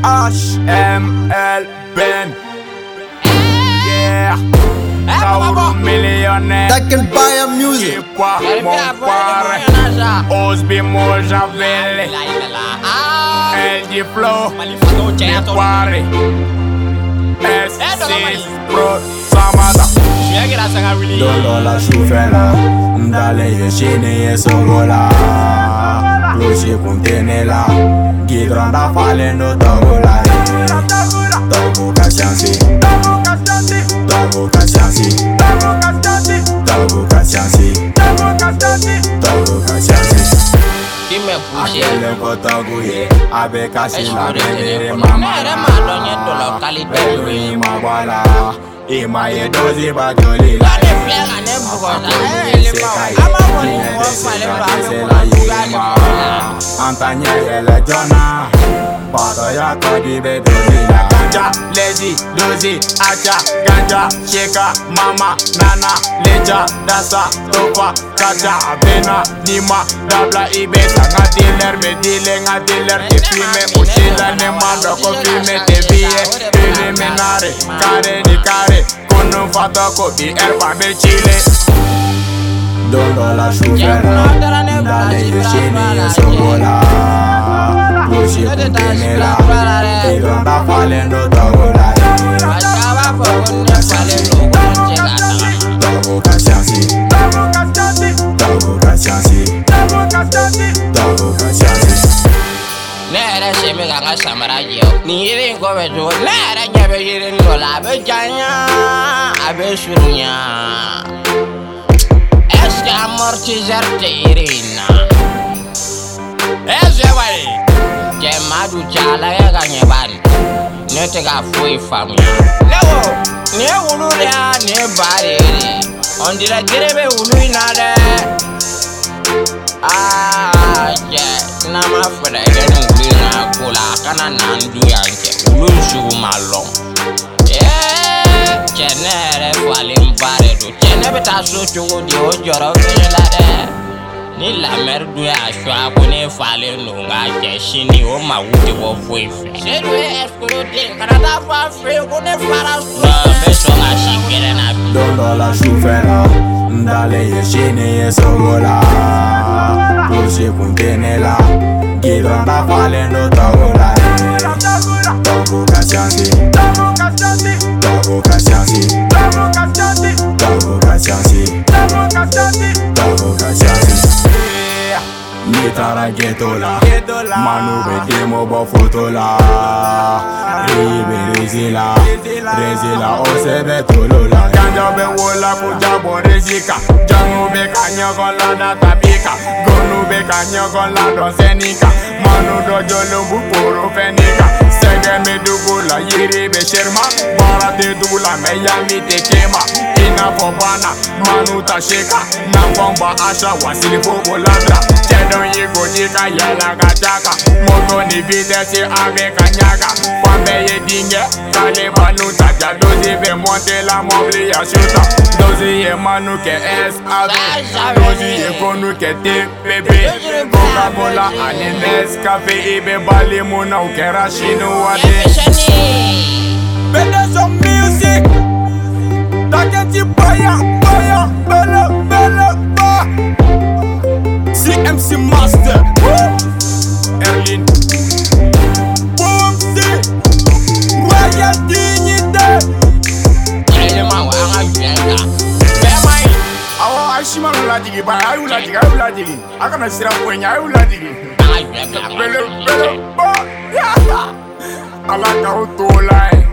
HML Ben. Yeah. Kaoru millionnaire. That can buy a music. Pas mon pare. Osby Mojavelle. El di flow. Mi pare. S6 Pro Samada. Dolo la shufela. Ndale ye shine ye sogola. Cloche contenela. Gidronda falendo togola. Togo kashansi. Togo kashansi. Togo kashansi. Togo kashansi. Akele kotogu ye. Abe kasi la bebe mama. Bebe mabala. Ima ye dozi bajoli la. Antanya yele jona. Pada ya kodi be dozi la. Ganja, lazy, dozi, acha, ganja, sheka, mama, nana, leja, dasa, topa, kacha, bena, nima, dabla, ibeta. Nga dealer, me dealer, nga dealer, te filme, uchila, ne mando, ko filme, te vie, pele, menare, kare, di kare, kono fata, ko bi, erba, be chile. Dolo la shufera, ndale yushini, yesogola. Cloche contenela, Gidronda falendo togola. Togo kashansi. Togo kashansi. Togo kashansi. Nere se me ganga samara yo. Ni irin ko be jo. Nere nyabe irin ko la be janya. Abe surunya. Eske amortizar te irina. Wai. Madu chala ya ganye ban. Ne te ga foi famia. Lewo. Ne wulu ya ne bare. On dira gerebe wulu inade. Je. Na ma fere gani wulu na kola kana nandu yanke. Wulu shugu malong. Chenere fali mbare do. Chene beta so chogo di o joro la de. Ni la merdu ya shwa kone fale nunga jeshini o mawuti wo fuife. Sedwe eskuro de karata fa fe kone fara so. Beso nga shikere na. Dolo la shufela. Ndale ye shine ye sogola. Cloche contenela. Gidronda falendo togola. Togo kashansi. Togo kashansi. Togo kashansi. Togo kashansi. Nitara ghetto la. Manu be demo bo photo la. Ribe rezila. Rezila o sebe tolo la. Ganja be wola kuja bo rezika. Jangu be kanya kon la da tabika. Gonu be kanya kon la do senika. Manu do jolo bu poro fenika. Sege me dugula yiri be sherma. Bara te dugula me yami te kema. Ina fobana manu ta sheka. Nambomba asha wasili bobo ladra. Chedon yigo jika yela gachaka. Moto ni vitesi ave kanyaga. Pambe ye dinge kale manu ta jadozi be monte la mobli ya shuta. Dozi ye manu ke SAV. Dozi ye konu ke TPP. Coca-Cola ane Nescafe ibe bali muna ukera shinu wade. Bende some music. Taketi baya, baya, bele, bele, ba. CMC Master. Erlin. Boomsy. Royal Dignité. Ashima la digi ba ayu la digi akana sira kwenya ayu la digi bele ba ala ka utola